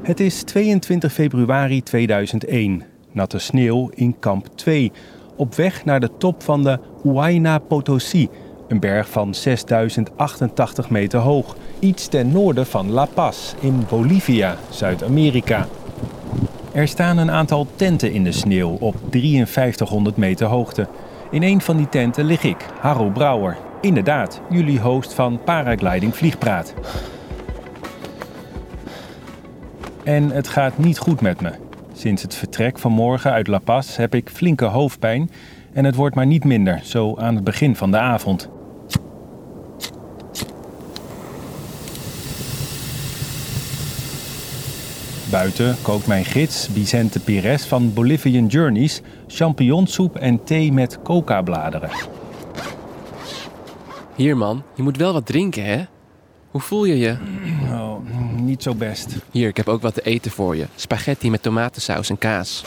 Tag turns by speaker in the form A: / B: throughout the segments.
A: Het is 22 februari 2001. Natte sneeuw in kamp 2. Op weg naar de top van de Huayna Potosí. Een berg van 6088 meter hoog. Iets ten noorden van La Paz in Bolivia, Zuid-Amerika. Er staan een aantal tenten in de sneeuw op 5300 meter hoogte. In een van die tenten lig ik, Harro Brouwer. Inderdaad, jullie host van Paragliding Vliegpraat. En het gaat niet goed met me. Sinds het vertrek vanmorgen uit La Paz heb ik flinke hoofdpijn en het wordt maar niet minder, zo aan het begin van de avond. Buiten kookt mijn gids Vicente Pires van Bolivian Journeys champignonsoep en thee met coca-bladeren.
B: Hier man, je moet wel wat drinken hè? Hoe voel je je?
A: Oh, niet zo best.
B: Hier, ik heb ook wat te eten voor je. Spaghetti met tomatensaus en kaas.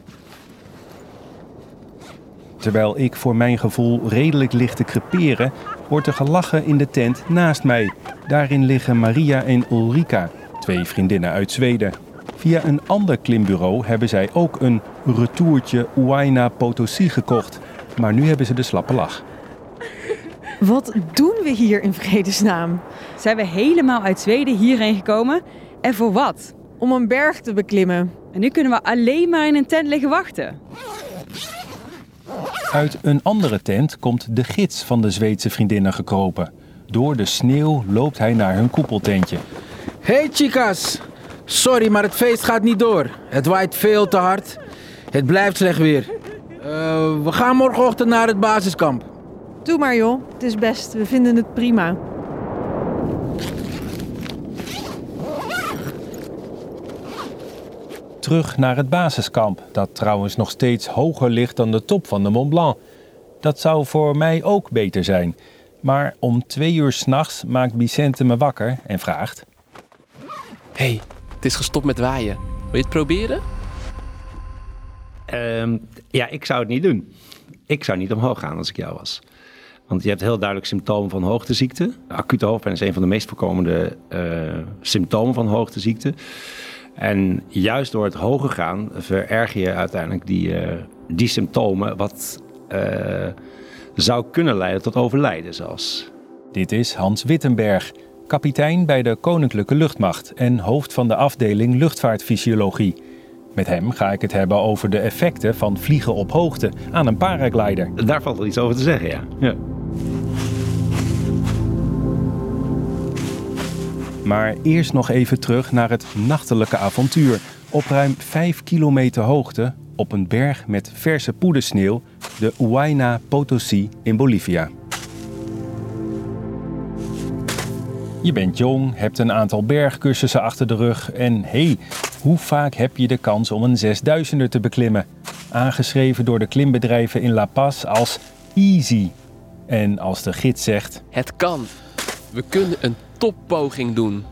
A: Terwijl ik voor mijn gevoel redelijk lig te creperen, wordt er gelachen in de tent naast mij. Daarin liggen Maria en Ulrika, 2 vriendinnen uit Zweden. Via een ander klimbureau hebben zij ook een retourtje Huayna Potosí gekocht. Maar nu hebben ze de slappe lach.
C: Wat doen we hier in vredesnaam?
D: Zijn we helemaal uit Zweden hierheen gekomen? En voor wat?
C: Om een berg te beklimmen.
D: En nu kunnen we alleen maar in een tent liggen wachten.
A: Uit een andere tent komt de gids van de Zweedse vriendinnen gekropen. Door de sneeuw loopt hij naar hun koepeltentje.
E: Hey chicas, sorry maar het feest gaat niet door. Het waait veel te hard. Het blijft slecht weer. We gaan morgenochtend naar het basiskamp.
C: Doe maar joh, het is best. We vinden het prima.
A: Terug naar het basiskamp, dat trouwens nog steeds hoger ligt dan de top van de Mont Blanc. Dat zou voor mij ook beter zijn. Maar om 2 uur 's nachts maakt Vicente me wakker en vraagt...
B: Hey, het is gestopt met waaien. Wil je het proberen?
F: Ja, ik zou het niet doen. Ik zou niet omhoog gaan als ik jou was. Want je hebt heel duidelijk symptomen van hoogteziekte. Acute hoofdpijn is een van de meest voorkomende symptomen van hoogteziekte. En juist door het hoger gaan vererger je uiteindelijk die symptomen, wat zou kunnen leiden tot overlijden zelfs.
A: Dit is Hans Wittenberg, kapitein bij de Koninklijke Luchtmacht en hoofd van de afdeling luchtvaartfysiologie. Met hem ga ik het hebben over de effecten van vliegen op hoogte aan een paraglider.
F: Daar valt wel iets over te zeggen, ja.
A: Maar eerst nog even terug naar het nachtelijke avontuur. Op ruim 5 kilometer hoogte, op een berg met verse poedersneeuw, de Huayna Potosí in Bolivia. Je bent jong, hebt een aantal bergcursussen achter de rug en hoe vaak heb je de kans om een 6000er te beklimmen? Aangeschreven door de klimbedrijven in La Paz als easy. En als de gids zegt...
B: Het kan. We kunnen een toppoging doen.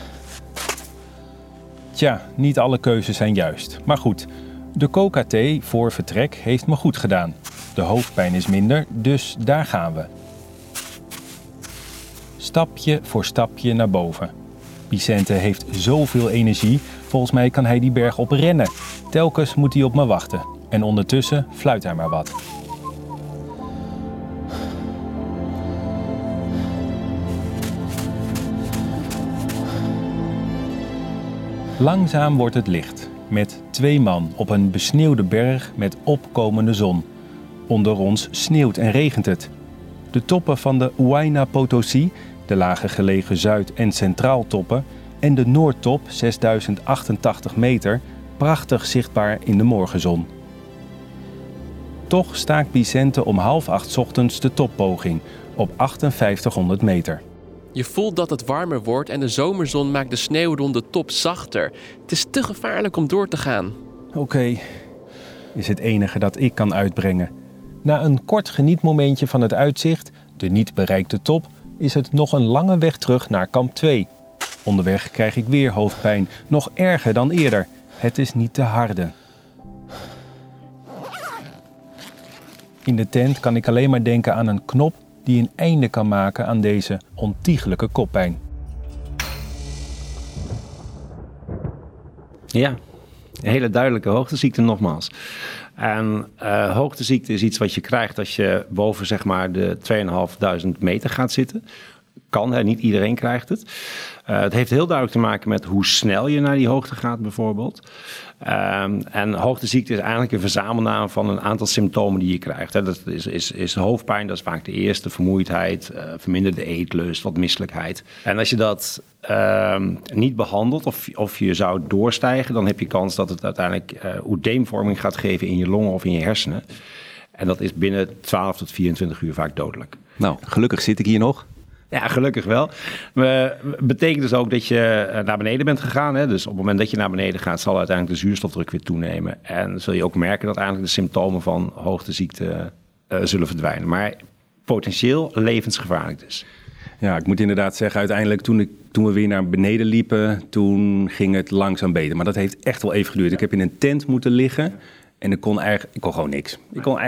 A: Tja, niet alle keuzes zijn juist. Maar goed, de coca-thee voor vertrek heeft me goed gedaan. De hoofdpijn is minder, dus daar gaan we. Stapje voor stapje naar boven. Vicente heeft zoveel energie, volgens mij kan hij die berg op rennen. Telkens moet hij op me wachten. En ondertussen fluit hij maar wat. Langzaam wordt het licht, met 2 man op een besneeuwde berg met opkomende zon. Onder ons sneeuwt en regent het. De toppen van de Huayna Potosí, de lager gelegen Zuid- en Centraaltoppen en de Noordtop, 6088 meter, prachtig zichtbaar in de morgenzon. Toch staakt Vicente om 7:30 ochtends de toppoging op 5800 meter.
B: Je voelt dat het warmer wordt en de zomerzon maakt de sneeuw rond de top zachter. Het is te gevaarlijk om door te gaan.
A: Oké, is het enige dat ik kan uitbrengen. Na een kort genietmomentje van het uitzicht, de niet bereikte top, is het nog een lange weg terug naar kamp 2. Onderweg krijg ik weer hoofdpijn, nog erger dan eerder. Het is niet te harde. In de tent kan ik alleen maar denken aan een knop die een einde kan maken aan deze ontiegelijke koppijn.
F: Ja, een hele duidelijke hoogteziekte nogmaals. En hoogteziekte is iets wat je krijgt als je boven zeg maar de 2500 meter gaat zitten. Kan, hè? Niet iedereen krijgt het. Het heeft heel duidelijk te maken met hoe snel je naar die hoogte gaat bijvoorbeeld. En hoogteziekte is eigenlijk een verzamelnaam van een aantal symptomen die je krijgt. Hè. Dat is hoofdpijn, dat is vaak de eerste, vermoeidheid, verminderde eetlust, wat misselijkheid. En als je dat niet behandelt of je zou doorstijgen, dan heb je kans dat het uiteindelijk oedeemvorming gaat geven in je longen of in je hersenen. En dat is binnen 12 tot 24 uur vaak dodelijk.
A: Nou, gelukkig zit ik hier nog.
F: Ja, gelukkig wel. Betekent dus ook dat je naar beneden bent gegaan. Hè? Dus op het moment dat je naar beneden gaat, zal uiteindelijk de zuurstofdruk weer toenemen. En zul je ook merken dat eigenlijk de symptomen van hoogteziekte zullen verdwijnen. Maar potentieel levensgevaarlijk dus.
A: Ja, ik moet inderdaad zeggen, uiteindelijk toen we weer naar beneden liepen, toen ging het langzaam beter. Maar dat heeft echt wel even geduurd. Ik heb in een tent moeten liggen en ik kon gewoon niks.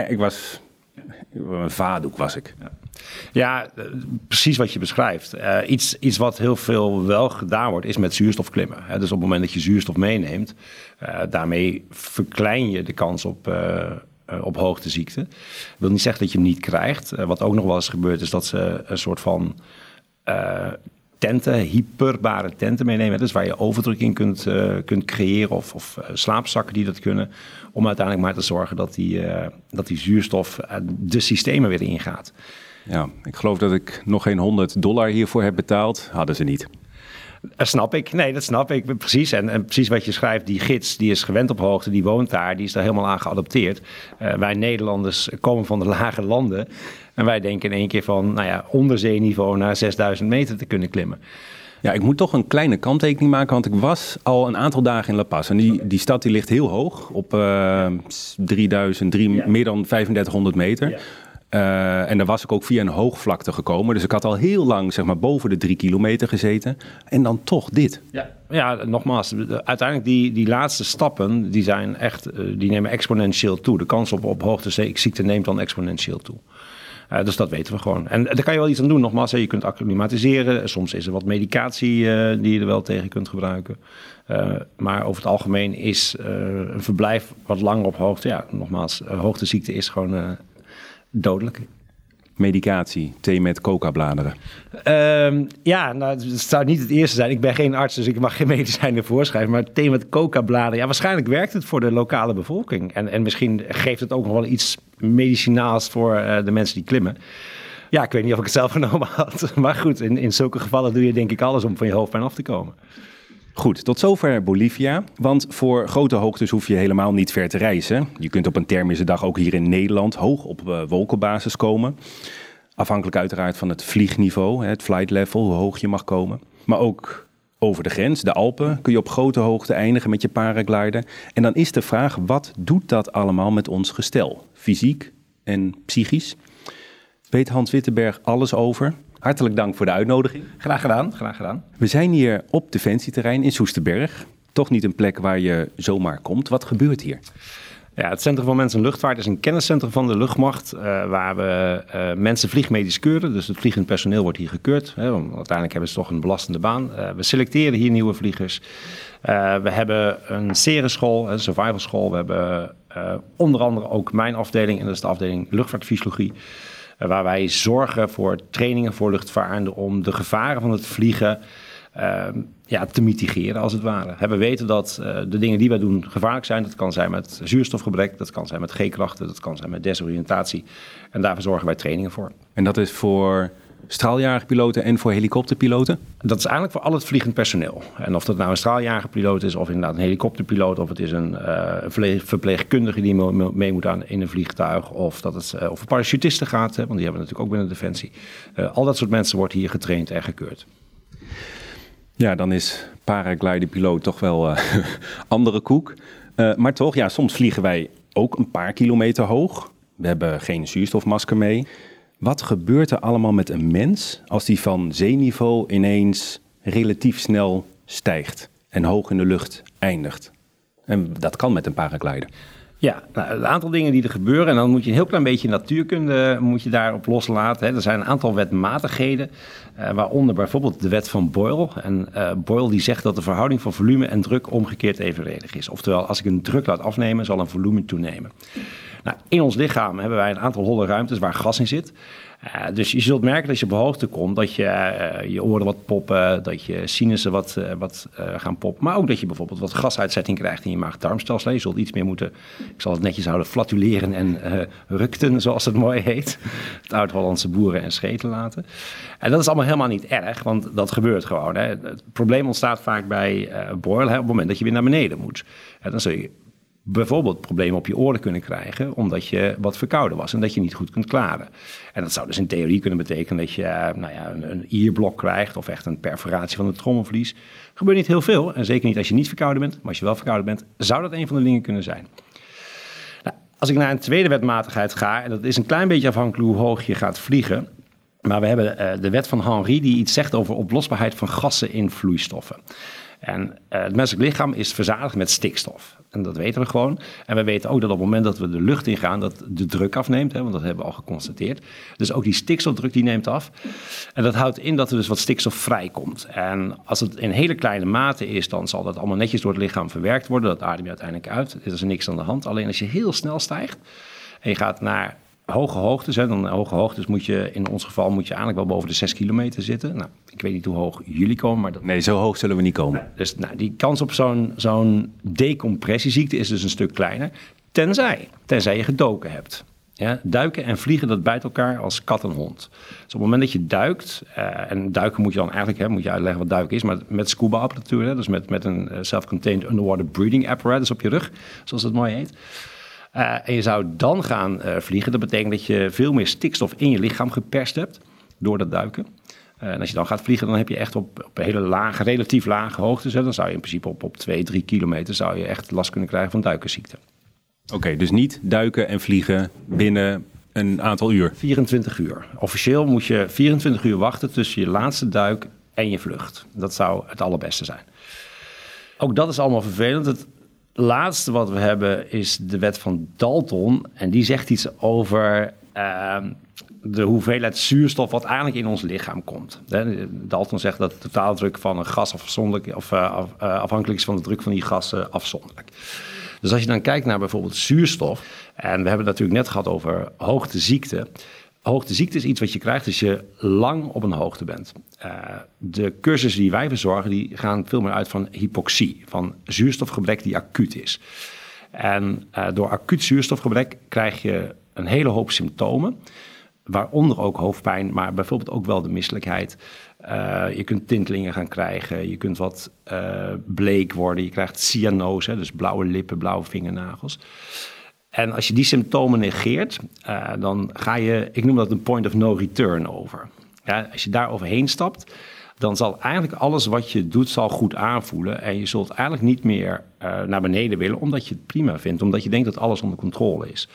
A: Een vadoek was ik.
F: Ja, precies wat je beschrijft. Iets wat heel veel wel gedaan wordt, is met zuurstof klimmen. Dus op het moment dat je zuurstof meeneemt, daarmee verklein je de kans op hoogteziekte. Dat wil niet zeggen dat je hem niet krijgt. Wat ook nog wel eens gebeurt, is dat ze een soort van tenten, hyperbare tenten meenemen. Dus waar je overdruk in kunt creëren of slaapzakken die dat kunnen. Om uiteindelijk maar te zorgen dat die zuurstof de systemen weer ingaat.
A: Ja, ik geloof dat ik nog geen $100 hiervoor heb betaald. Hadden ze niet.
F: Dat snap ik. Nee, dat snap ik. Precies. En precies wat je schrijft, die gids, die is gewend op hoogte, die woont daar, die is daar helemaal aan geadapteerd. Wij Nederlanders komen van de lage landen. En wij denken in één keer van, onder zeeniveau naar 6000 meter te kunnen klimmen.
A: Ja, ik moet toch een kleine kanttekening maken, want ik was al een aantal dagen in La Paz. En die stad die ligt heel hoog, op meer dan 3500 meter. Ja. En daar was ik ook via een hoogvlakte gekomen. Dus ik had al heel lang zeg maar boven de 3 kilometer gezeten. En dan toch dit.
F: Ja, nogmaals, uiteindelijk die laatste stappen, die nemen exponentieel toe. De kans op hoogteziekte neemt dan exponentieel toe. Dus dat weten we gewoon. En daar kan je wel iets aan doen. Nogmaals, je kunt acclimatiseren. Soms is er wat medicatie die je er wel tegen kunt gebruiken. Maar over het algemeen is een verblijf wat langer op hoogte. Ja, nogmaals, hoogteziekte is gewoon dodelijk.
A: Medicatie, thee met coca-bladeren.
F: Het zou niet het eerste zijn. Ik ben geen arts, dus ik mag geen medicijnen voorschrijven. Maar thee met coca-bladeren, waarschijnlijk werkt het voor de lokale bevolking. En misschien geeft het ook nog wel iets medicinaals voor de mensen die klimmen. Ja, ik weet niet of ik het zelf genomen had. Maar goed, in zulke gevallen doe je denk ik alles om van je hoofdpijn af te komen.
A: Goed, tot zover Bolivia. Want voor grote hoogtes hoef je helemaal niet ver te reizen. Je kunt op een thermische dag ook hier in Nederland hoog op wolkenbasis komen. Afhankelijk uiteraard van het vliegniveau, het flight level, hoe hoog je mag komen. Maar ook over de grens, de Alpen, kun je op grote hoogte eindigen met je paraglider. En dan is de vraag, wat doet dat allemaal met ons gestel? Fysiek en psychisch? Weet Hans Wittenberg alles over? Hartelijk dank voor de uitnodiging.
F: Graag gedaan.
A: We zijn hier op defensieterrein in Soesterberg. Toch niet een plek waar je zomaar komt. Wat gebeurt hier?
F: Ja, het Centrum van Mens en Luchtvaart is een kenniscentrum van de luchtmacht, waar we mensen vliegmedisch keuren. Dus het vliegend personeel wordt hier gekeurd. Want uiteindelijk hebben ze toch een belastende baan. We selecteren hier nieuwe vliegers. We hebben een serenschool, een survival school. We hebben onder andere ook mijn afdeling, en dat is de afdeling luchtvaartfysiologie. Waar wij zorgen voor trainingen voor luchtvaartenden om de gevaren van het vliegen te mitigeren als het ware. We weten dat de dingen die wij doen gevaarlijk zijn. Dat kan zijn met zuurstofgebrek, dat kan zijn met G-krachten, dat kan zijn met desoriëntatie. En daarvoor zorgen wij trainingen voor.
A: En dat is voor straaljagerpiloten en voor helikopterpiloten?
F: Dat is eigenlijk voor al het vliegend personeel. En of dat nou een straaljagerpiloot is of inderdaad een helikopterpiloot, of het is een verpleegkundige die mee moet aan in een vliegtuig, of dat het over parachutisten gaat, want die hebben we natuurlijk ook binnen Defensie. Al dat soort mensen wordt hier getraind en gekeurd.
A: Ja, dan is paragliderpiloot toch wel andere koek. Maar toch, ja, soms vliegen wij ook een paar kilometer hoog. We hebben geen zuurstofmasker mee. Wat gebeurt er allemaal met een mens als die van zeeniveau ineens relatief snel stijgt en hoog in de lucht eindigt? En dat kan met een paraglider.
F: Ja, nou, een aantal dingen die er gebeuren. En dan moet je een heel klein beetje natuurkunde daarop loslaten. Hè. Er zijn een aantal wetmatigheden, waaronder bijvoorbeeld de wet van Boyle. En Boyle die zegt dat de verhouding van volume en druk omgekeerd evenredig is. Oftewel, als ik een druk laat afnemen, zal een volume toenemen. Nou, in ons lichaam hebben wij een aantal holle ruimtes waar gas in zit. Dus je zult merken dat als je op hoogte komt, dat je oren wat poppen, dat je sinussen wat gaan poppen. Maar ook dat je bijvoorbeeld wat gasuitzetting krijgt in je maag-darmstelsel. Je zult iets meer moeten, ik zal het netjes houden, flatuleren en rukten, zoals het mooi heet. Het oud-Hollandse boeren en scheten laten. En dat is allemaal helemaal niet erg, want dat gebeurt gewoon. Hè. Het probleem ontstaat vaak bij Boyle op het moment dat je weer naar beneden moet. Dan zul je bijvoorbeeld problemen op je oren kunnen krijgen, omdat je wat verkouden was en dat je niet goed kunt klaren. En dat zou dus in theorie kunnen betekenen dat je een ierblok krijgt of echt een perforatie van het trommelvlies. Gebeurt niet heel veel en zeker niet als je niet verkouden bent, maar als je wel verkouden bent, zou dat een van de dingen kunnen zijn. Nou, als ik naar een tweede wetmatigheid ga, en dat is een klein beetje afhankelijk hoe hoog je gaat vliegen, maar we hebben de wet van Henry die iets zegt over oplosbaarheid van gassen in vloeistoffen. En het menselijk lichaam is verzadigd met stikstof. En dat weten we gewoon. En we weten ook dat op het moment dat we de lucht ingaan, dat de druk afneemt. Hè, want dat hebben we al geconstateerd. Dus ook die stikstofdruk die neemt af. En dat houdt in dat er dus wat stikstof vrijkomt. En als het in hele kleine mate is, dan zal dat allemaal netjes door het lichaam verwerkt worden. Dat adem je uiteindelijk uit. Er is niks aan de hand. Alleen als je heel snel stijgt en je gaat naar hoge hoogtes, hè, dan hoge hoogtes moet je in ons geval eigenlijk wel boven de 6 kilometer zitten. Nou, ik weet niet hoe hoog jullie komen, maar
A: Nee, zo hoog zullen we niet komen.
F: Dus die kans op zo'n decompressieziekte is dus een stuk kleiner, tenzij je gedoken hebt. Ja, duiken en vliegen, dat bijt elkaar als kat en hond. Dus op het moment dat je duikt, en duiken moet je dan eigenlijk, moet je uitleggen wat duiken is, maar met scuba-apparatuur, dus met een self-contained underwater breathing apparatus op je rug, zoals dat mooi heet. En je zou dan gaan vliegen. Dat betekent dat je veel meer stikstof in je lichaam geperst hebt door dat duiken. En als je dan gaat vliegen, dan heb je echt op hele lage, relatief lage hoogtes. Dan zou je in principe op 2-3 kilometer zou je echt last kunnen krijgen van duikenziekte.
A: Oké, dus niet duiken en vliegen binnen een aantal uur?
F: 24 uur. Officieel moet je 24 uur wachten tussen je laatste duik en je vlucht. Dat zou het allerbeste zijn. Ook dat is allemaal vervelend. Het laatste wat we hebben is de wet van Dalton. En die zegt iets over de hoeveelheid zuurstof wat eigenlijk in ons lichaam komt. Dalton zegt dat de totaaldruk van een gas afhankelijk is van de druk van die gassen afzonderlijk. Dus als je dan kijkt naar bijvoorbeeld zuurstof, en we hebben het natuurlijk net gehad over hoogteziekte. Hoogteziekte is iets wat je krijgt als je lang op een hoogte bent. De cursussen die wij verzorgen, die gaan veel meer uit van hypoxie, van zuurstofgebrek die acuut is. En door acuut zuurstofgebrek krijg je een hele hoop symptomen, waaronder ook hoofdpijn, maar bijvoorbeeld ook wel de misselijkheid. Je kunt tintelingen gaan krijgen, je kunt wat bleek worden, je krijgt cyanose, dus blauwe lippen, blauwe vingernagels. En als je die symptomen negeert, dan ga je, ik noem dat een point of no return over. Ja, als je daar overheen stapt, dan zal eigenlijk alles wat je doet zal goed aanvoelen. En je zult eigenlijk niet meer naar beneden willen, omdat je het prima vindt. Omdat je denkt dat alles onder controle is.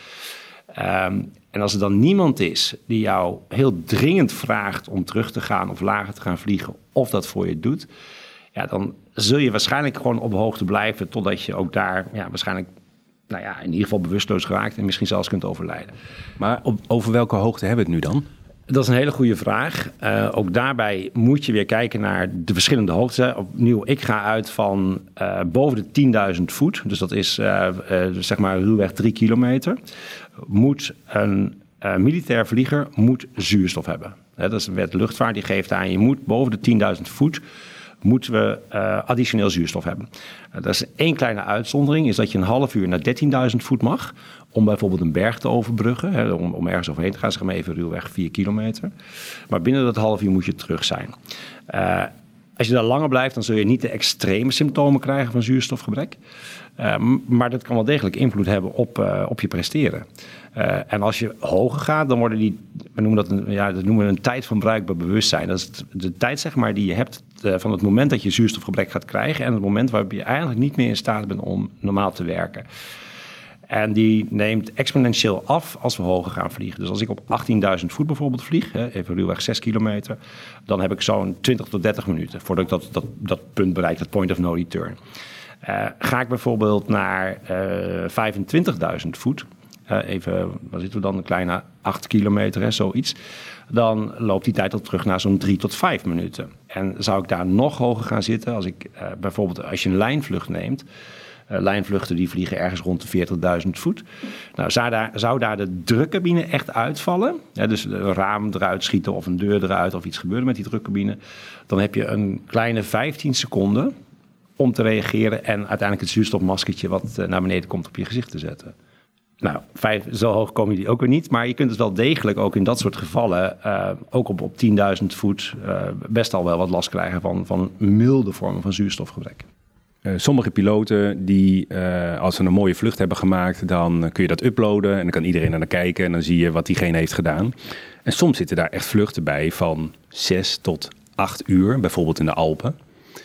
F: En als er dan niemand is die jou heel dringend vraagt om terug te gaan of lager te gaan vliegen, of dat voor je doet, ja, dan zul je waarschijnlijk gewoon op hoogte blijven totdat je ook daar waarschijnlijk in ieder geval bewusteloos geraakt en misschien zelfs kunt overlijden.
A: Maar over welke hoogte hebben we het nu dan?
F: Dat is een hele goede vraag. Ook daarbij moet je weer kijken naar de verschillende hoogtes. Opnieuw, ik ga uit van boven de 10.000 voet. Dus dat is zeg maar ruwweg 3 kilometer. Moet een militair vlieger zuurstof hebben. Dat is de wet luchtvaart die geeft aan. Je moet boven de 10.000 voet moeten we additioneel zuurstof hebben. Dat is één kleine uitzondering, is dat je een half uur naar 13.000 voet mag, om bijvoorbeeld een berg te overbruggen, om ergens overheen te gaan, zeg maar even ruwweg 4 kilometer. Maar binnen dat half uur moet je terug zijn. Als je daar langer blijft, dan zul je niet de extreme symptomen krijgen van zuurstofgebrek. Maar dat kan wel degelijk invloed hebben op je presteren. En als je hoger gaat, dan worden we noemen we een tijd van bruikbaar bewustzijn. Dat is de tijd, zeg maar, die je hebt van het moment dat je zuurstofgebrek gaat krijgen en het moment waarop je eigenlijk niet meer in staat bent om normaal te werken. En die neemt exponentieel af als we hoger gaan vliegen. Dus als ik op 18.000 voet bijvoorbeeld vlieg, even ruwweg 6 kilometer, dan heb ik zo'n 20 tot 30 minuten voordat ik dat punt bereik, dat point of no return. Ga ik bijvoorbeeld naar 25.000 voet, even, waar zitten we dan, een kleine 8 kilometer, zoiets, dan loopt die tijd al terug naar zo'n 3 tot 5 minuten. En zou ik daar nog hoger gaan zitten, als ik bijvoorbeeld als je een lijnvlucht neemt, lijnvluchten die vliegen ergens rond de 40.000 voet. Nou, zou daar de drukcabine echt uitvallen, dus een raam eruit schieten of een deur eruit of iets gebeuren met die drukcabine, dan heb je een kleine 15 seconden om te reageren en uiteindelijk het zuurstofmaskertje wat naar beneden komt op je gezicht te zetten. Nou, zo hoog komen die ook weer niet, maar je kunt het wel degelijk ook in dat soort gevallen, ook op 10.000 voet, best al wel wat last krijgen van milde vormen van zuurstofgebrek.
A: Sommige piloten die, als ze een mooie vlucht hebben gemaakt, dan kun je dat uploaden en dan kan iedereen naar kijken en dan zie je wat diegene heeft gedaan. En soms zitten daar echt vluchten bij van 6 tot 8 uur, bijvoorbeeld in de Alpen.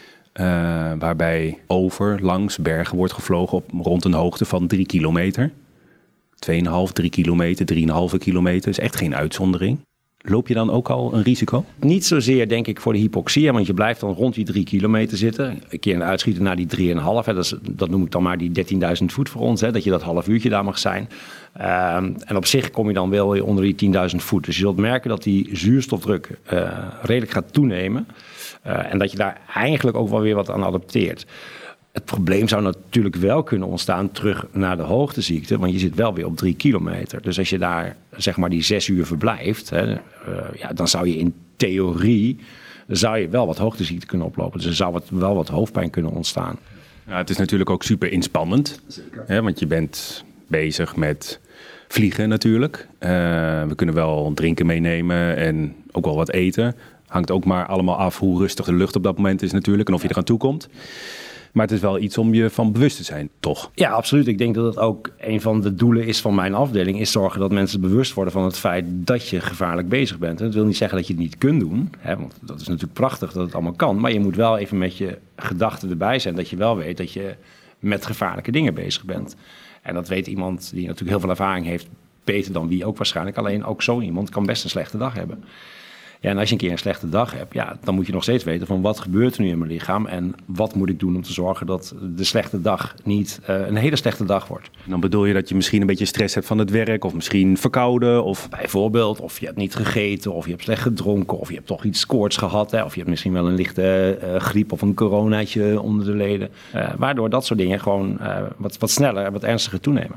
A: Waarbij langs bergen wordt gevlogen op rond een hoogte van 3 kilometer. 2,5, 3 kilometer, 3,5 kilometer. Is echt geen uitzondering. Loop je dan ook al een risico?
F: Niet zozeer, denk ik, voor de hypoxia, want je blijft dan rond die 3 kilometer zitten. Een keer uitschieten naar die 3,5. Dat noem ik dan maar die 13.000 voet voor ons, dat je dat half uurtje daar mag zijn. En op zich kom je dan wel weer onder die 10.000 voet. Dus je zult merken dat die zuurstofdruk redelijk gaat toenemen. En dat je daar eigenlijk ook wel weer wat aan adapteert. Het probleem zou natuurlijk wel kunnen ontstaan terug naar de hoogteziekte, want je zit wel weer op 3 kilometer. Dus als je daar zeg maar die 6 uur verblijft, dan zou je in theorie wel wat hoogteziekte kunnen oplopen. Dus er zou wel wat hoofdpijn kunnen ontstaan.
A: Ja, het is natuurlijk ook super inspannend, want je bent bezig met vliegen natuurlijk. We kunnen wel drinken meenemen en ook wel wat eten. Hangt ook maar allemaal af hoe rustig de lucht op dat moment is natuurlijk en of je eraan toe komt. Maar het is wel iets om je van bewust te zijn, toch?
F: Ja, absoluut. Ik denk dat het ook een van de doelen is van mijn afdeling, is zorgen dat mensen bewust worden van het feit dat je gevaarlijk bezig bent. En dat wil niet zeggen dat je het niet kunt doen, want dat is natuurlijk prachtig dat het allemaal kan. Maar je moet wel even met je gedachten erbij zijn dat je wel weet dat je met gevaarlijke dingen bezig bent. En dat weet iemand die natuurlijk heel veel ervaring heeft, beter dan wie ook waarschijnlijk. Alleen ook zo iemand kan best een slechte dag hebben. Ja, en als je een keer een slechte dag hebt, dan moet je nog steeds weten van wat gebeurt er nu in mijn lichaam en wat moet ik doen om te zorgen dat de slechte dag niet een hele slechte dag wordt.
A: En dan bedoel je dat je misschien een beetje stress hebt van het werk of misschien verkouden? Of
F: bijvoorbeeld, of je hebt niet gegeten of je hebt slecht gedronken of je hebt toch iets koorts gehad. Of je hebt misschien wel een lichte griep of een coronaatje onder de leden. Waardoor dat soort dingen gewoon wat sneller en wat ernstiger toenemen.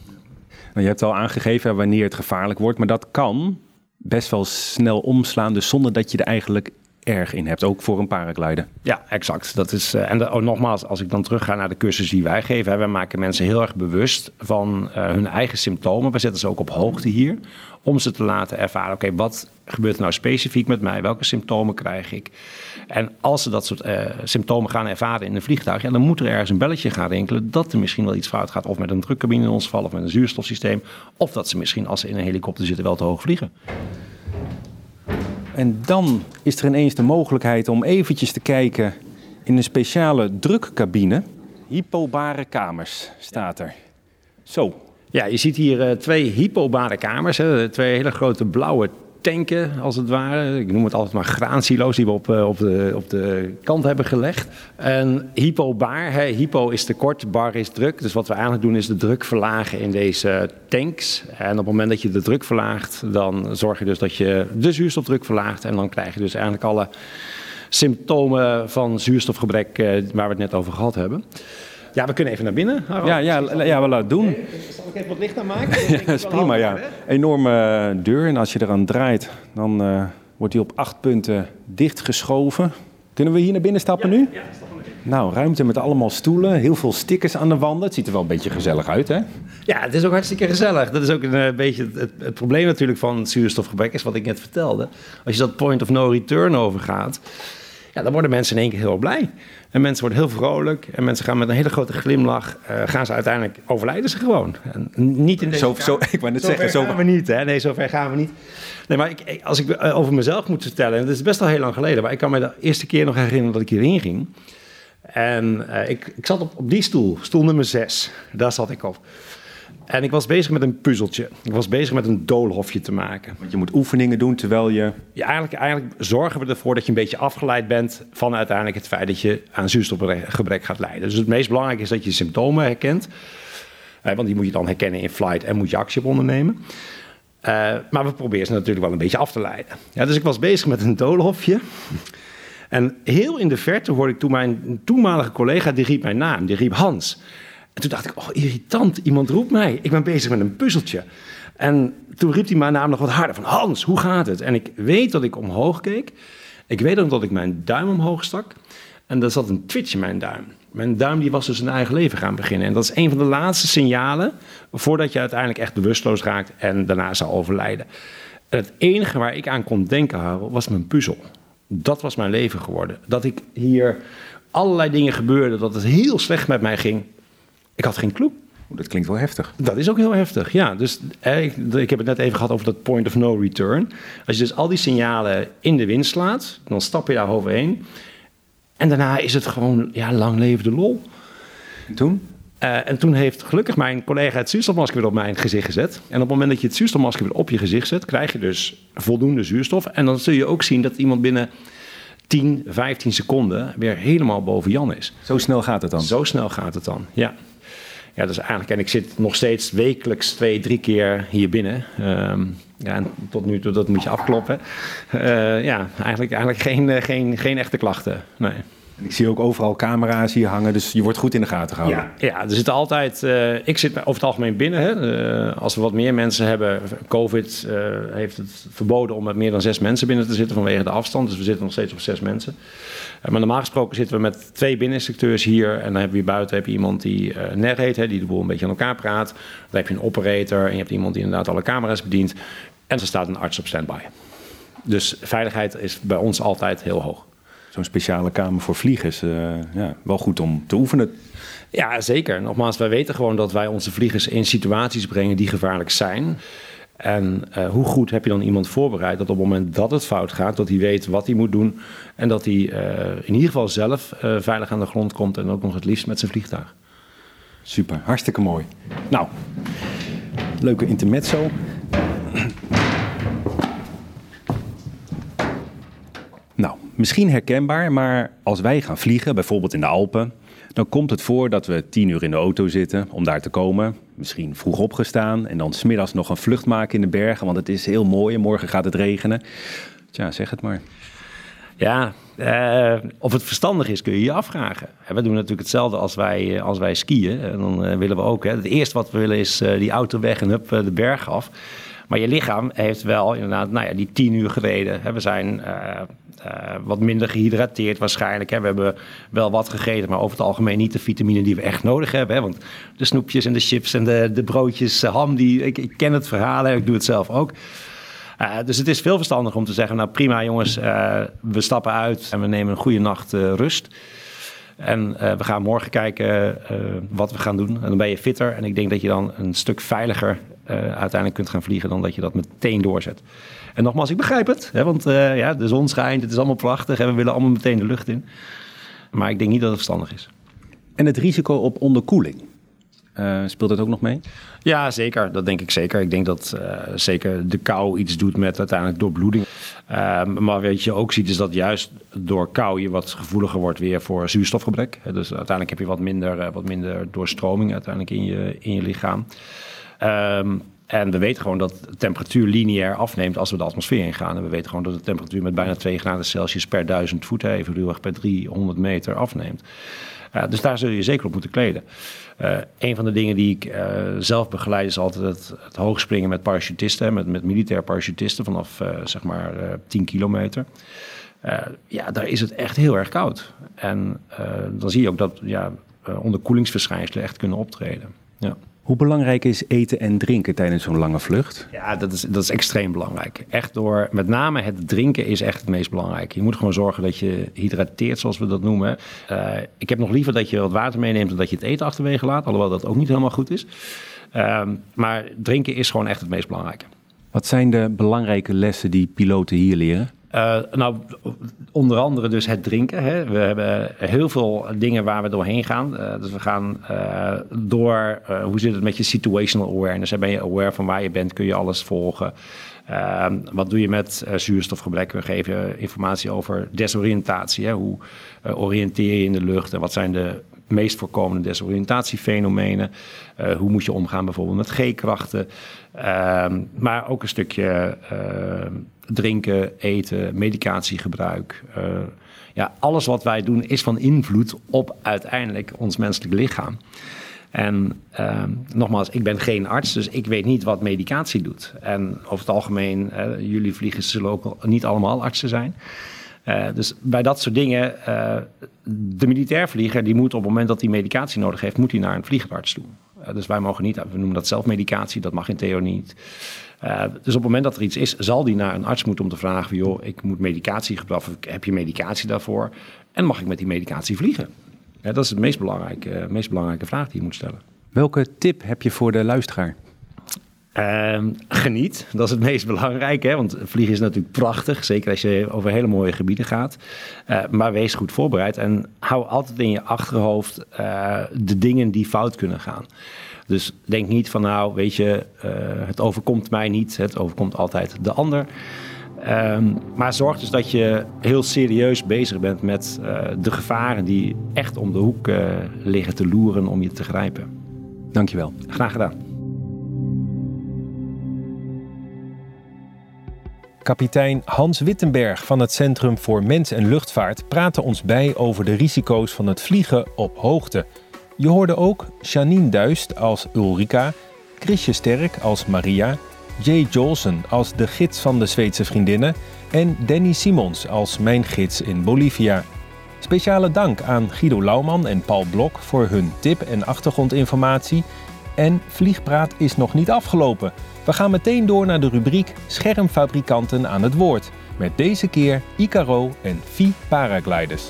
A: Nou, je hebt al aangegeven wanneer het gevaarlijk wordt, maar dat kan best wel snel omslaan, dus zonder dat je er eigenlijk erg in hebt, ook voor een paraglider.
F: Ja, exact. Dat is, nogmaals, als ik dan terugga naar de cursus die wij geven, wij maken mensen heel erg bewust van hun eigen symptomen. We zetten ze ook op hoogte hier, om ze te laten ervaren, oké, wat gebeurt er nou specifiek met mij? Welke symptomen krijg ik? En als ze dat soort symptomen gaan ervaren in een vliegtuig, dan moet er ergens een belletje gaan rinkelen dat er misschien wel iets fout gaat, of met een drukcabine in ons geval, of met een zuurstofsysteem, of dat ze misschien, als ze in een helikopter zitten, wel te hoog vliegen.
A: En dan is er ineens de mogelijkheid om eventjes te kijken in een speciale drukcabine. Hypobare kamers staat er. Zo.
F: Ja, je ziet hier 2 hypobare kamers, 2 hele grote blauwe tanken als het ware. Ik noem het altijd maar graansilo's die we op de kant hebben gelegd. En hypobaar, hypo is tekort, bar is druk. Dus wat we eigenlijk doen is de druk verlagen in deze tanks. En op het moment dat je de druk verlaagt, dan zorg je dus dat je de zuurstofdruk verlaagt. En dan krijg je dus eigenlijk alle symptomen van zuurstofgebrek waar we het net over gehad hebben. Ja, we kunnen even naar binnen.
A: Ja, we laten het doen.
F: Zal ik even wat licht aan maken?
A: Ja, dat is prima, ja. Enorme deur en als je eraan draait, dan wordt die op 8 punten dichtgeschoven. Kunnen we hier naar binnen stappen nu?
F: Ja, stappen we in.
A: Nou, ruimte met allemaal stoelen, heel veel stickers aan de wanden. Het ziet er wel een beetje gezellig uit, hè?
F: Ja, het is ook hartstikke gezellig. Dat is ook een beetje het probleem natuurlijk van zuurstofgebrek, is wat ik net vertelde. Als je dat point of no return overgaat, dan worden mensen in één keer heel blij. En mensen worden heel vrolijk. En mensen gaan met een hele grote glimlach. Gaan ze uiteindelijk overlijden ze gewoon. En niet in deze
A: ik wou net zeggen,
F: zo gaan we niet. Hè? Nee, zover gaan we niet. Nee, maar als ik over mezelf moet vertellen. En dat is best al heel lang geleden. Maar ik kan me de eerste keer nog herinneren dat ik hierin ging. En ik zat op die stoel nummer 6. Daar zat ik op. En ik was bezig met een puzzeltje. Ik was bezig met een doolhofje te maken.
A: Want je moet oefeningen doen terwijl je...
F: Ja, eigenlijk zorgen we ervoor dat je een beetje afgeleid bent van uiteindelijk het feit dat je aan zuurstofgebrek gaat lijden. Dus het meest belangrijke is dat je symptomen herkent. Want die moet je dan herkennen in flight en moet je actie op ondernemen. Maar we proberen ze natuurlijk wel een beetje af te leiden. Ja, dus ik was bezig met een doolhofje. En heel in de verte hoorde ik toen mijn toenmalige collega, die riep mijn naam. Die riep Hans. En toen dacht ik, irritant, iemand roept mij. Ik ben bezig met een puzzeltje. En toen riep hij mijn naam nog wat harder. Van Hans, hoe gaat het? En ik weet dat ik omhoog keek. Ik weet ook dat ik mijn duim omhoog stak. En er zat een twitch in mijn duim. Mijn duim die was dus een eigen leven gaan beginnen. En dat is een van de laatste signalen voordat je uiteindelijk echt bewusteloos raakt en daarna zou overlijden. En het enige waar ik aan kon denken, Harold, was mijn puzzel. Dat was mijn leven geworden. Dat ik hier allerlei dingen gebeurden, dat het heel slecht met mij ging. Ik had geen clue.
A: Dat klinkt wel heftig.
F: Dat is ook heel heftig, ja. Dus ik heb het net even gehad over dat point of no return. Als je dus al die signalen in de wind slaat, dan stap je daar overheen. En daarna is het gewoon, lang leven de lol.
A: En toen?
F: En toen heeft gelukkig mijn collega het zuurstofmasker weer op mijn gezicht gezet. En op het moment dat je het zuurstofmasker weer op je gezicht zet, krijg je dus voldoende zuurstof. En dan zul je ook zien dat iemand binnen 10, 15 seconden weer helemaal boven Jan is.
A: Zo snel gaat het dan?
F: Zo snel gaat het dan, ja. Ja, dus eigenlijk, en ik zit nog steeds wekelijks 2, 3 keer hier binnen. En tot nu toe, dat moet je afkloppen. Eigenlijk geen echte klachten, nee.
A: Ik zie ook overal camera's hier hangen, dus je wordt goed in de gaten gehouden.
F: Ja, er zitten altijd... ik zit over het algemeen binnen. Hè. Als we wat meer mensen hebben... COVID heeft het verboden om met meer dan 6 mensen binnen te zitten vanwege de afstand. Dus we zitten nog steeds op 6 mensen. Maar normaal gesproken zitten we met 2 binneninstructeurs hier. En dan hebben we hier buiten iemand die NER heet, hè, die de boel een beetje aan elkaar praat. Dan heb je een operator en je hebt iemand die inderdaad alle camera's bedient. En er staat een arts op standby. Dus veiligheid is bij ons altijd heel hoog.
A: Zo'n speciale kamer voor vliegers, wel goed om te oefenen.
F: Ja, zeker. Nogmaals, wij weten gewoon dat wij onze vliegers in situaties brengen die gevaarlijk zijn. En hoe goed heb je dan iemand voorbereid dat op het moment dat het fout gaat, dat hij weet wat hij moet doen. En dat hij in ieder geval zelf veilig aan de grond komt en ook nog het liefst met zijn vliegtuig.
A: Super, hartstikke mooi. Nou, leuke intermezzo. Nou, misschien herkenbaar, maar als wij gaan vliegen, bijvoorbeeld in de Alpen, dan komt het voor dat we 10 uur in de auto zitten om daar te komen. Misschien vroeg opgestaan en dan 's middags nog een vlucht maken in de bergen, want het is heel mooi en morgen gaat het regenen. Tja, zeg het maar.
F: Ja, of het verstandig is kun je je afvragen. We doen natuurlijk hetzelfde als wij skiën. En dan willen we ook, het eerste wat we willen is die auto weg en hup de berg af. Maar je lichaam heeft wel inderdaad die 10 uur gereden. We zijn wat minder gehydrateerd waarschijnlijk. We hebben wel wat gegeten, maar over het algemeen niet de vitamine die we echt nodig hebben. Want de snoepjes en de chips en de broodjes, ham, ik ken het verhaal, ik doe het zelf ook. Dus het is veel verstandiger om te zeggen, nou prima jongens, we stappen uit en we nemen een goede nacht rust. En we gaan morgen kijken wat we gaan doen. En dan ben je fitter. En ik denk dat je dan een stuk veiliger uiteindelijk kunt gaan vliegen dan dat je dat meteen doorzet. En nogmaals, ik begrijp het. Hè, want de zon schijnt, het is allemaal prachtig. En we willen allemaal meteen de lucht in. Maar ik denk niet dat het verstandig is.
A: En het risico op onderkoeling, speelt dat ook nog mee?
F: Ja, zeker. Dat denk ik zeker. Ik denk dat zeker de kou iets doet met uiteindelijk doorbloeding. Maar wat je ook ziet is dat juist door kou je wat gevoeliger wordt weer voor zuurstofgebrek. Dus uiteindelijk heb je wat minder doorstroming uiteindelijk in je lichaam. En we weten gewoon dat de temperatuur lineair afneemt als we de atmosfeer ingaan. En we weten gewoon dat de temperatuur met bijna 2 graden Celsius per 1000 voet, even ruwweg per 300 meter afneemt. Dus daar zul je zeker op moeten kleden. Een van de dingen die ik zelf begeleid is altijd het hoogspringen met parachutisten. Met militair parachutisten vanaf 10 kilometer. Daar is het echt heel erg koud. En dan zie je ook dat onderkoelingsverschijnselen echt kunnen optreden. Ja.
A: Hoe belangrijk is eten en drinken tijdens zo'n lange vlucht?
F: Ja, dat is extreem belangrijk. Echt met name het drinken is echt het meest belangrijk. Je moet gewoon zorgen dat je hydrateert, zoals we dat noemen. Ik heb nog liever dat je wat water meeneemt dan dat je het eten achterwege laat. Alhoewel dat ook niet helemaal goed is. Maar drinken is gewoon echt het meest belangrijke.
A: Wat zijn de belangrijke lessen die piloten hier leren?
F: Onder andere dus het drinken. Hè. We hebben heel veel dingen waar we doorheen gaan. Dus we gaan door, hoe zit het met je situational awareness? Ben je aware van waar je bent? Kun je alles volgen? Wat doe je met zuurstofgebrek? We geven informatie over desoriëntatie. Hè. Hoe oriënteer je in de lucht? En wat zijn de meest voorkomende desoriëntatiefenomenen? Hoe moet je omgaan bijvoorbeeld met G-krachten? Maar ook een stukje drinken, eten, medicatiegebruik. Alles wat wij doen is van invloed op uiteindelijk ons menselijk lichaam. En nogmaals, ik ben geen arts, dus ik weet niet wat medicatie doet. En over het algemeen, jullie vliegers zullen ook niet allemaal artsen zijn. Dus bij dat soort dingen, de militair vlieger, die moet op het moment dat hij medicatie nodig heeft, moet hij naar een vliegerarts toe. Dus wij mogen niet, we noemen dat zelfmedicatie, dat mag in theorie niet. Dus op het moment dat er iets is, zal die naar een arts moeten om te vragen van, joh, ik moet medicatie gebruiken, heb je medicatie daarvoor? En mag ik met die medicatie vliegen? Dat is de meest belangrijke vraag die je moet stellen.
A: Welke tip heb je voor de luisteraar?
F: Geniet, dat is het meest belangrijke. Hè? Want vliegen is natuurlijk prachtig, zeker als je over hele mooie gebieden gaat. Maar wees goed voorbereid en hou altijd in je achterhoofd de dingen die fout kunnen gaan. Dus denk niet van het overkomt mij niet, het overkomt altijd de ander. Maar zorg dus dat je heel serieus bezig bent met de gevaren die echt om de hoek liggen te loeren om je te grijpen.
A: Dankjewel.
F: Graag gedaan.
A: Kapitein Hans Wittenberg van het Centrum voor Mens en Luchtvaart praatte ons bij over de risico's van het vliegen op hoogte. Je hoorde ook Janine Duist als Ulrika, Chrisje Sterk als Maria, Jay Jolson als de gids van de Zweedse vriendinnen en Danny Simons als mijn gids in Bolivia. Speciale dank aan Guido Lauwman en Paul Blok voor hun tip en achtergrondinformatie. En Vliegpraat is nog niet afgelopen. We gaan meteen door naar de rubriek Schermfabrikanten aan het woord. Met deze keer Icaro en Vie Paragliders.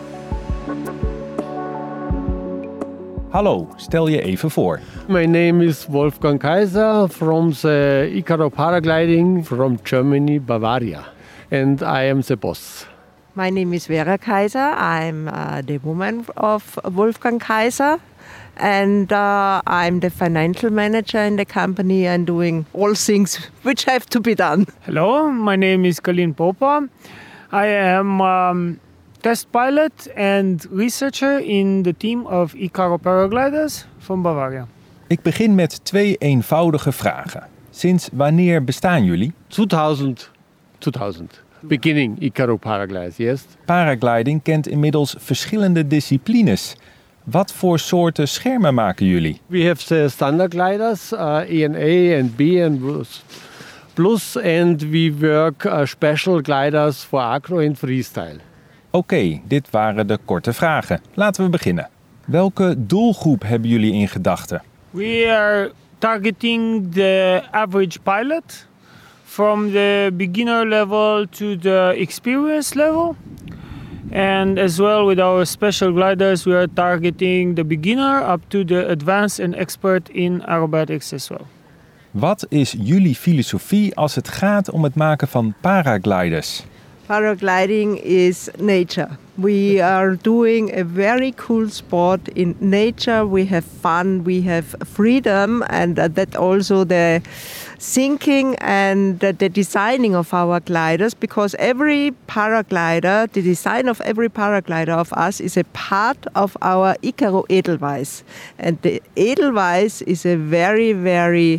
A: Hallo, stel je even voor.
G: My name is Wolfgang Kaiser from the Icaro Paragliding from Germany, Bavaria. And I am the boss.
H: My name is Vera Kaiser. I'm the woman of Wolfgang Kaiser. And I'm the financial manager in the company and doing all things which have to be done.
I: Hello, my name is Colin Popa. I am test pilot and researcher in the team of Icaro Paragliders from Bavaria.
A: Ik begin met 2 eenvoudige vragen. Sinds wanneer bestaan jullie?
G: 2000. Beginning Icaro Paragliders, yes.
A: Paragliding kent inmiddels verschillende disciplines. Wat voor soorten schermen maken jullie?
G: We have the standard gliders, ENA and B and Plus, and we work special gliders for acro and freestyle.
A: Oké, dit waren de korte vragen. Laten we beginnen. Welke doelgroep hebben jullie in gedachten?
I: We are targeting the average pilot from the beginner level to the experience level. And as well with our special gliders, we are targeting the beginner up to the advanced and expert in aerobatics as well.
A: Wat is jullie filosofie als het gaat om het maken van paragliders?
H: Paragliding is nature. We are doing a very cool sport in nature. We have fun, we have freedom, and that also the thinking and the designing of our gliders, because every paraglider, the design of every paraglider of us is a part of our Icaro Edelweiss. And the Edelweiss is a very, very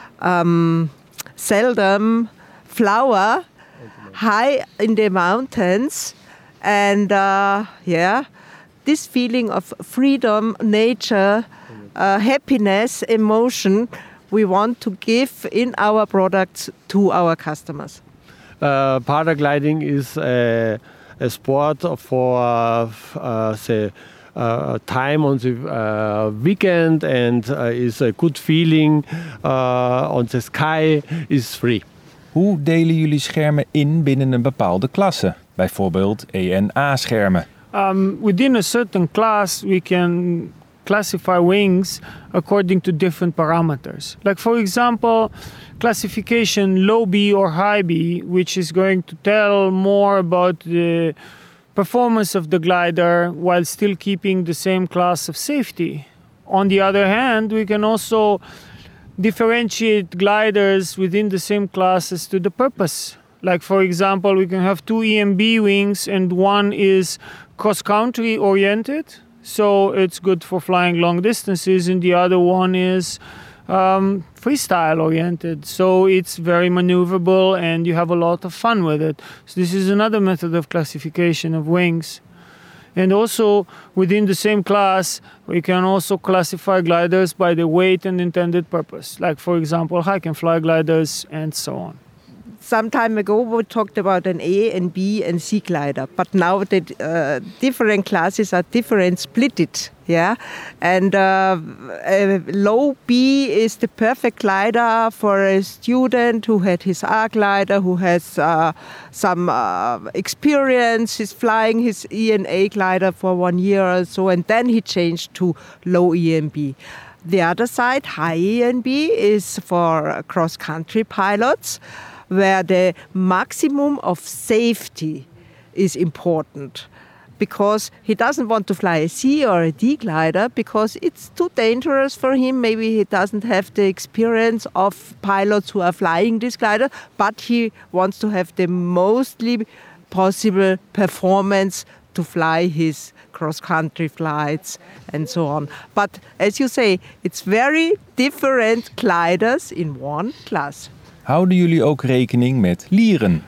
H: seldom flower high in the mountains. And this feeling of freedom, nature, happiness, emotion, we want to give in our products to our customers.
G: Paragliding is a sport for the time on the weekend, and is a good feeling on the sky, is free.
A: Hoe delen jullie schermen in binnen een bepaalde klasse? Bijvoorbeeld ENA-schermen.
I: Within a certain class, we can classify wings according to different parameters. Like, for example, classification low B or high B, which is going to tell more about the performance of the glider while still keeping the same class of safety. On the other hand, we can also differentiate gliders within the same classes to the purpose. Like, for example, we can have two EMB wings and one is cross-country oriented, so it's good for flying long distances, and the other one is freestyle oriented, so it's very maneuverable and you have a lot of fun with it. So this is another method of classification of wings. And also within the same class, we can also classify gliders by the weight and intended purpose, like, for example, high and fly gliders and so on.
H: Some time ago, we talked about an A and B and C glider, but now the different classes are different, splitted, yeah. And low B is the perfect glider for a student who had his R glider, who has some experience. He's flying his E and A glider for 1 year or so, and then he changed to low E and B. The other side, high E and B, is for cross-country pilots, where the maximum of safety is important, because he doesn't want to fly a C or a D glider because it's too dangerous for him. Maybe he doesn't have the experience of pilots who are flying this glider, but he wants to have the mostly possible performance to fly his cross-country flights and so on. But as you say, it's very different gliders in one class.
A: Houden jullie ook rekening met lieren?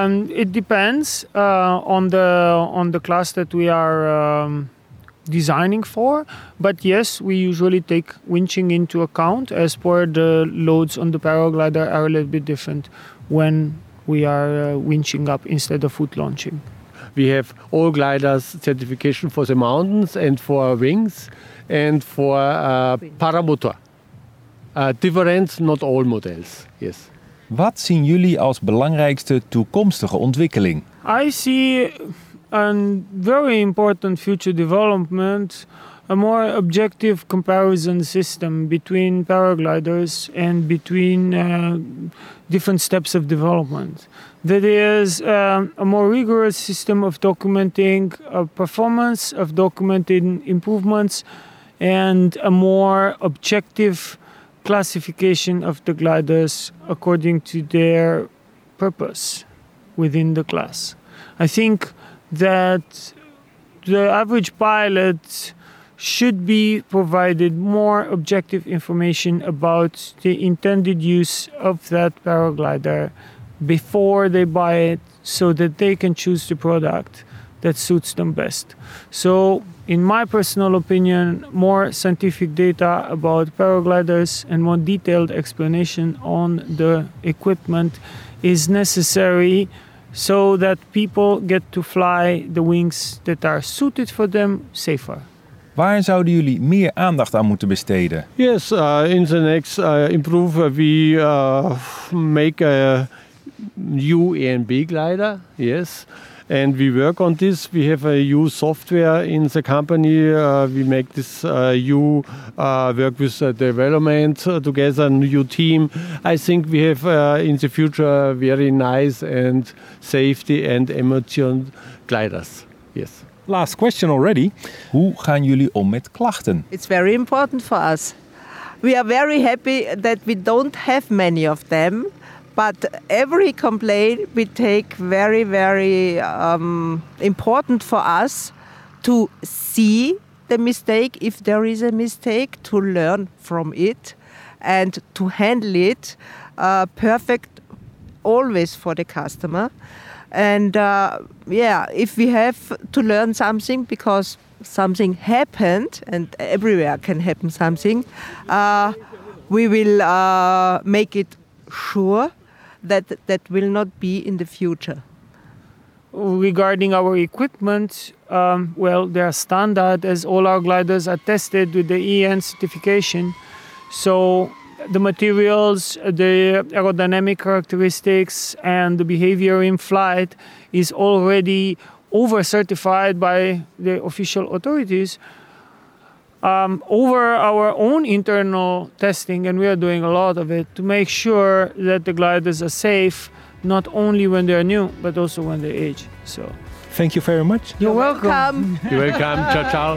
I: It depends on the class that we are designing for. But yes, we usually take winching into account, as per the loads on the paraglider are a little bit different when we are winching up instead of foot launching.
G: We have all gliders certification for the mountains and for wings and for paramotor. Different, not all models, yes.
A: Wat zien jullie als belangrijkste toekomstige ontwikkeling?
I: I see a very important future development, a more objective comparison system between paragliders and between different steps of development. That is a more rigorous system of documenting performance, of documenting improvements, and a more objective classification of the gliders according to their purpose within the class. I think that the average pilot should be provided more objective information about the intended use of that paraglider before they buy it, so that they can choose the product that suits them best. So, in my personal opinion, more scientific data about paragliders and more detailed explanation on the equipment is necessary, so that people get to fly the wings that are suited for them safer.
A: Waar zouden jullie meer aandacht aan moeten besteden?
G: Yes, in the next improve, we make a new A and B glider, yes. And we work on this. We have a new software in the company. We make this new work with development together, a new team. I think we have in the future very nice and safety and emotion gliders. Yes.
A: Last question already. Hoe gaan jullie om met klachten?
H: It's very important for us. We are very happy that we don't have many of them. But every complaint we take very, very important for us to see the mistake, if there is a mistake, to learn from it and to handle it perfect always for the customer. And if we have to learn something because something happened, and everywhere can happen something, we will make it sure that will not be in the future.
I: Regarding our equipment, they are standard, as all our gliders are tested with the EN certification. So the materials, the aerodynamic characteristics, and the behavior in flight is already over-certified by the official authorities. over our own internal testing, and we are doing a lot of it to make sure that the gliders are safe, not only when they're new, but also when they age. So,
A: Thank you very much.
I: you're welcome.
G: You're welcome. Ciao, ciao.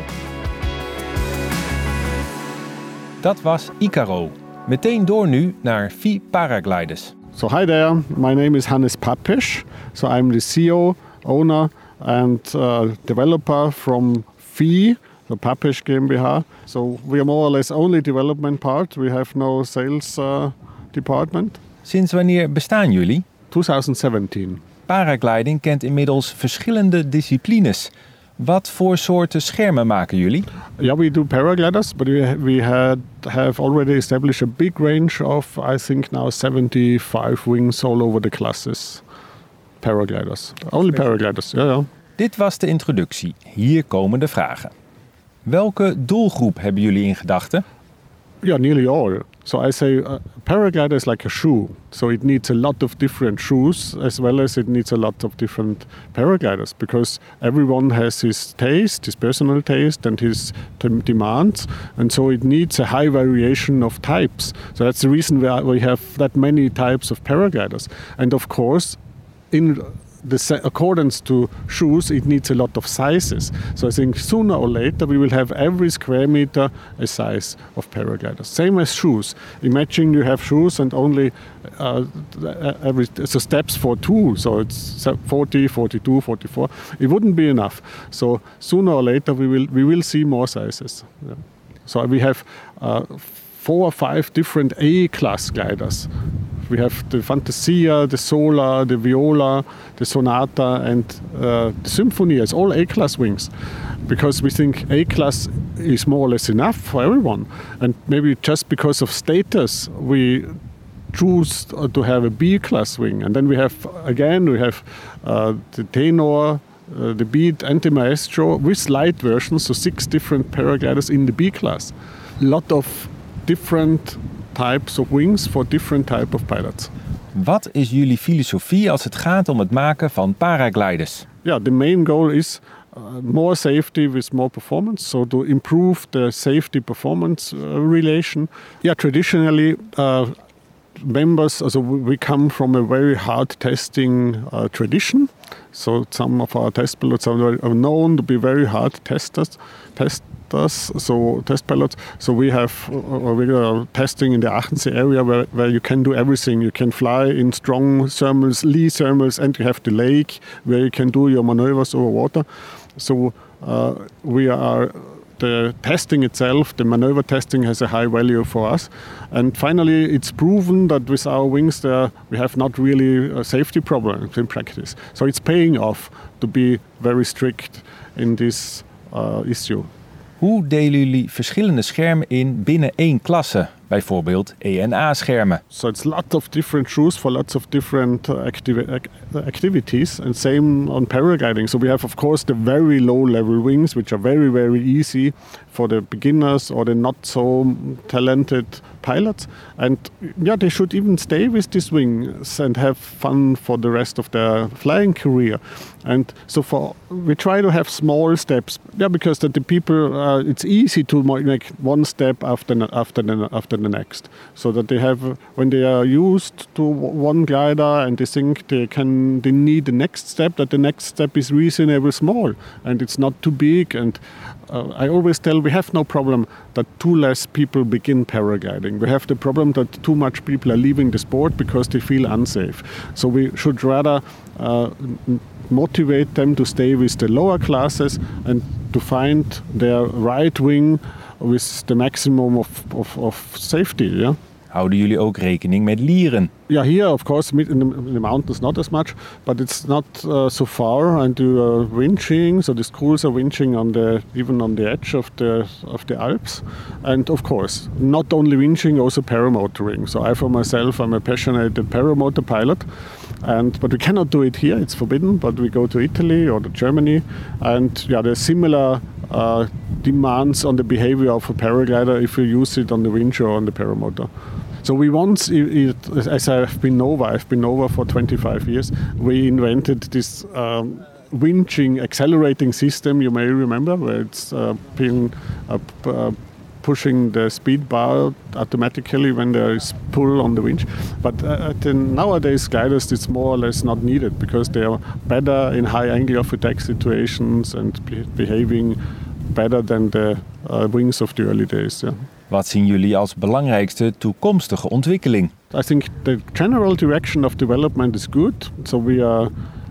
A: Dat was Icaro. Meteen door nu naar VI Paragliders.
J: So hi there, my name is Hannes Papesch. So I'm the CEO, owner and developer from VI, the Papesch GmbH. So we are more or less only development part. We have no sales department.
A: Sinds wanneer bestaan jullie?
J: 2017.
A: Paragliding kent inmiddels verschillende disciplines. Wat voor soorten schermen maken jullie?
J: Yeah, we do paragliders, but we have already established a big range of, I think now 75 wings all over the classes. Paragliders. Only paragliders, yeah.
A: Dit was de introductie. Hier komen de vragen. Welke doelgroep hebben jullie in gedachten?
J: Yeah, nearly all. So I say paraglider is like a shoe. So it needs a lot of different shoes as well as it needs a lot of different paragliders because everyone has his taste, his personal taste and his demands. And so it needs a high variation of types. So that's the reason we have that many types of paragliders. And of course, in the accordance to shoes, it needs a lot of sizes. So I think sooner or later we will have every square meter a size of paragliders. Same as shoes. Imagine you have shoes and only so steps for two. So it's 40, 42, 44. It wouldn't be enough. So sooner or later we will see more sizes. Yeah. So we have 4 or 5 different A-class gliders. We have the Fantasia, the Sola, the Viola, the Sonata and the Symphonia. It's all A-class wings because we think A-class is more or less enough for everyone. And maybe just because of status, we choose to have a B-class wing. And then we have the Tenor, the Beat and the Maestro with light versions, so 6 different paragliders in the B-class. A lot of different types of wings for different type of pilots.
A: Wat is jullie filosofie als het gaat om het maken van paragliders?
J: Yeah, the main goal is more safety with more performance. So to improve the safety performance relation. Yeah, traditionally members, we come from a very hard testing tradition. So some of our test pilots are known to be very hard test pilots. So we have regular testing in the Aachensee area where you can do everything. You can fly in strong thermals, lee thermals, and you have the lake where you can do your maneuvers over water. So the testing itself, the maneuver testing has a high value for us. And finally, it's proven that with our wings there, we have not really safety problems in practice. So it's paying off to be very strict in this issue.
A: Hoe delen jullie verschillende schermen in binnen één klasse? Bijvoorbeeld ENA-schermen.
J: So it's a lot of different shoes for lots of different activities, and same on paragliding. So we have, of course, the very low-level wings, which are very, very easy for the beginners or the not so talented pilots. And yeah, they should even stay with these wings and have fun for the rest of their flying career. And so we try to have small steps. Yeah, because the people, it's easy to make one step after the next, so that they have, when they are used to one glider and they think they need the next step, that the next step is reasonably small and it's not too big. And I always tell, we have no problem that too less people begin paragliding. We have the problem that too much people are leaving the sport because they feel unsafe. So we should rather motivate them to stay with the lower classes and to find their right wing with the maximum of safety. Yeah.
A: Houden jullie ook rekening met lieren?
J: Yeah, here of course in the mountains not as much, but it's not so far, and you are winching, so the schools are winching even on the edge of the Alps, and of course not only winching, also paramotoring. So I for myself, I'm a passionate paramotor pilot, but we cannot do it here; it's forbidden. But we go to Italy or to Germany, and yeah, there's similar demands on the behavior of a paraglider if you use it on the winch or on the paramotor. So we once, as I've been over for 25 years, we invented this winching accelerating system, you may remember, where it's pushing the speed bar automatically when there is pull on the winch. But nowadays gliders, it's more or less not needed because they are better in high angle of attack situations and behaving better than the wings of the early days. Yeah.
A: Wat zien jullie als belangrijkste toekomstige ontwikkeling?
J: I think the general direction of development is good. So we are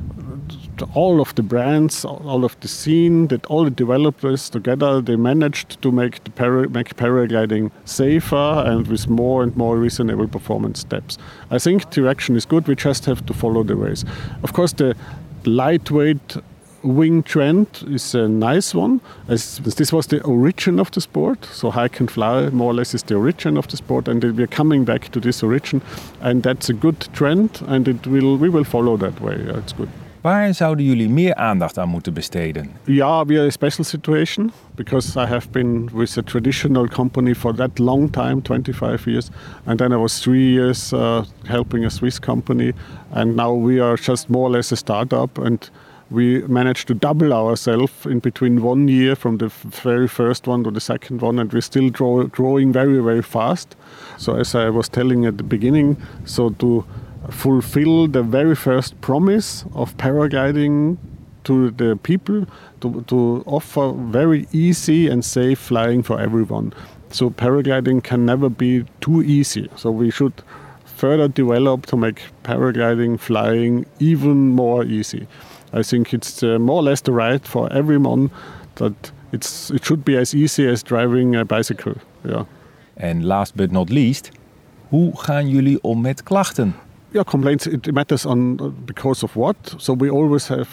J: all of the brands, all of the scene, that all the developers together, they managed to make paragliding safer and with more and more reasonable performance steps. I think direction is good. We just have to follow the ways. Of course, the lightweight wing trend is a nice one, as this was the origin of the sport. So hike and fly more or less is the origin of the sport, and we are coming back to this origin, and that's a good trend, and we will follow that way. It's good.
A: Waar zouden jullie meer aandacht aan moeten besteden?
J: Yeah, we are a special situation because I have been with a traditional company for that long time, 25 years, and then I was 3 years helping a Swiss company, and now we are just more or less a startup, and we managed to double ourselves in between 1 year from the very first one to the second one, and we're still growing very, very fast. So as I was telling at the beginning, so to fulfill the very first promise of paragliding to the people, to offer very easy and safe flying for everyone. So paragliding can never be too easy. So we should further develop to make paragliding, flying even more easy. I think it's more or less the right for everyone that it should be as easy as driving a bicycle. Yeah.
A: En last but not least, hoe gaan jullie om met klachten?
J: Yeah, complaints, it matters because of what. So we always have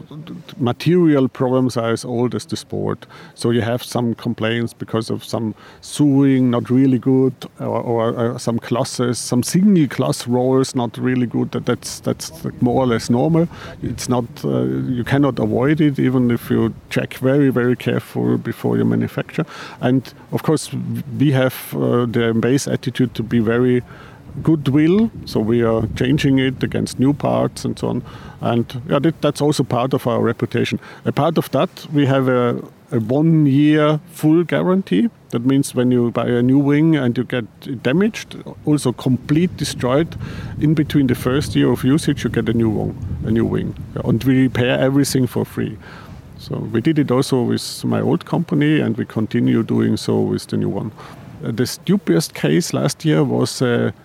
J: material problems are as old as the sport. So you have some complaints because of some sewing not really good, or some classes, some single class rolls not really good. That's more or less normal. It's not you cannot avoid it even if you check very, very careful before you manufacture. And of course we have the base attitude to be very goodwill, so we are changing it against new parts and so on, and that's also part of our reputation. A part of that, we have a 1 year full guarantee. That means when you buy a new wing and you get it damaged, also complete destroyed, in between the first year of usage you get a new wing, and we repair everything for free. So we did it also with my old company, and we continue doing so with the new one. The stupidest case last year was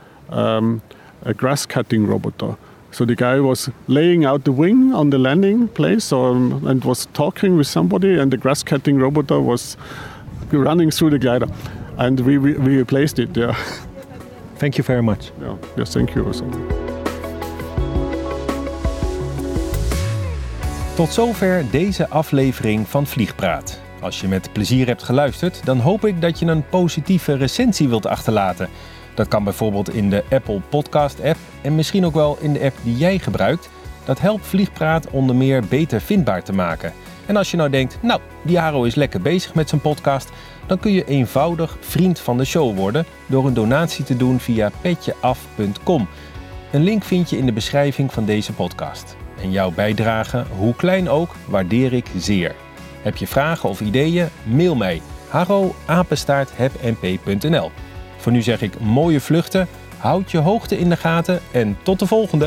J: a grass cutting robot. So the guy was laying out the wing on the landing place and was talking with somebody, and the grass cutting robot was running through the glider, and we replaced it. Yeah.
A: Thank you very much.
J: Yeah. Yes, thank you also.
A: Tot zover deze aflevering van Vliegpraat. Als je met plezier hebt geluisterd, dan hoop ik dat je een positieve recensie wilt achterlaten. Dat kan bijvoorbeeld in de Apple Podcast app en misschien ook wel in de app die jij gebruikt. Dat helpt Vliegpraat onder meer beter vindbaar te maken. En als je nou denkt, die Haro is lekker bezig met zijn podcast, dan kun je eenvoudig vriend van de show worden door een donatie te doen via petjeaf.com. Een link vind je in de beschrijving van deze podcast. En jouw bijdrage, hoe klein ook, waardeer ik zeer. Heb je vragen of ideeën? Mail mij haro@hepnp.nl. Voor nu zeg ik mooie vluchten, houd je hoogte in de gaten en tot de volgende!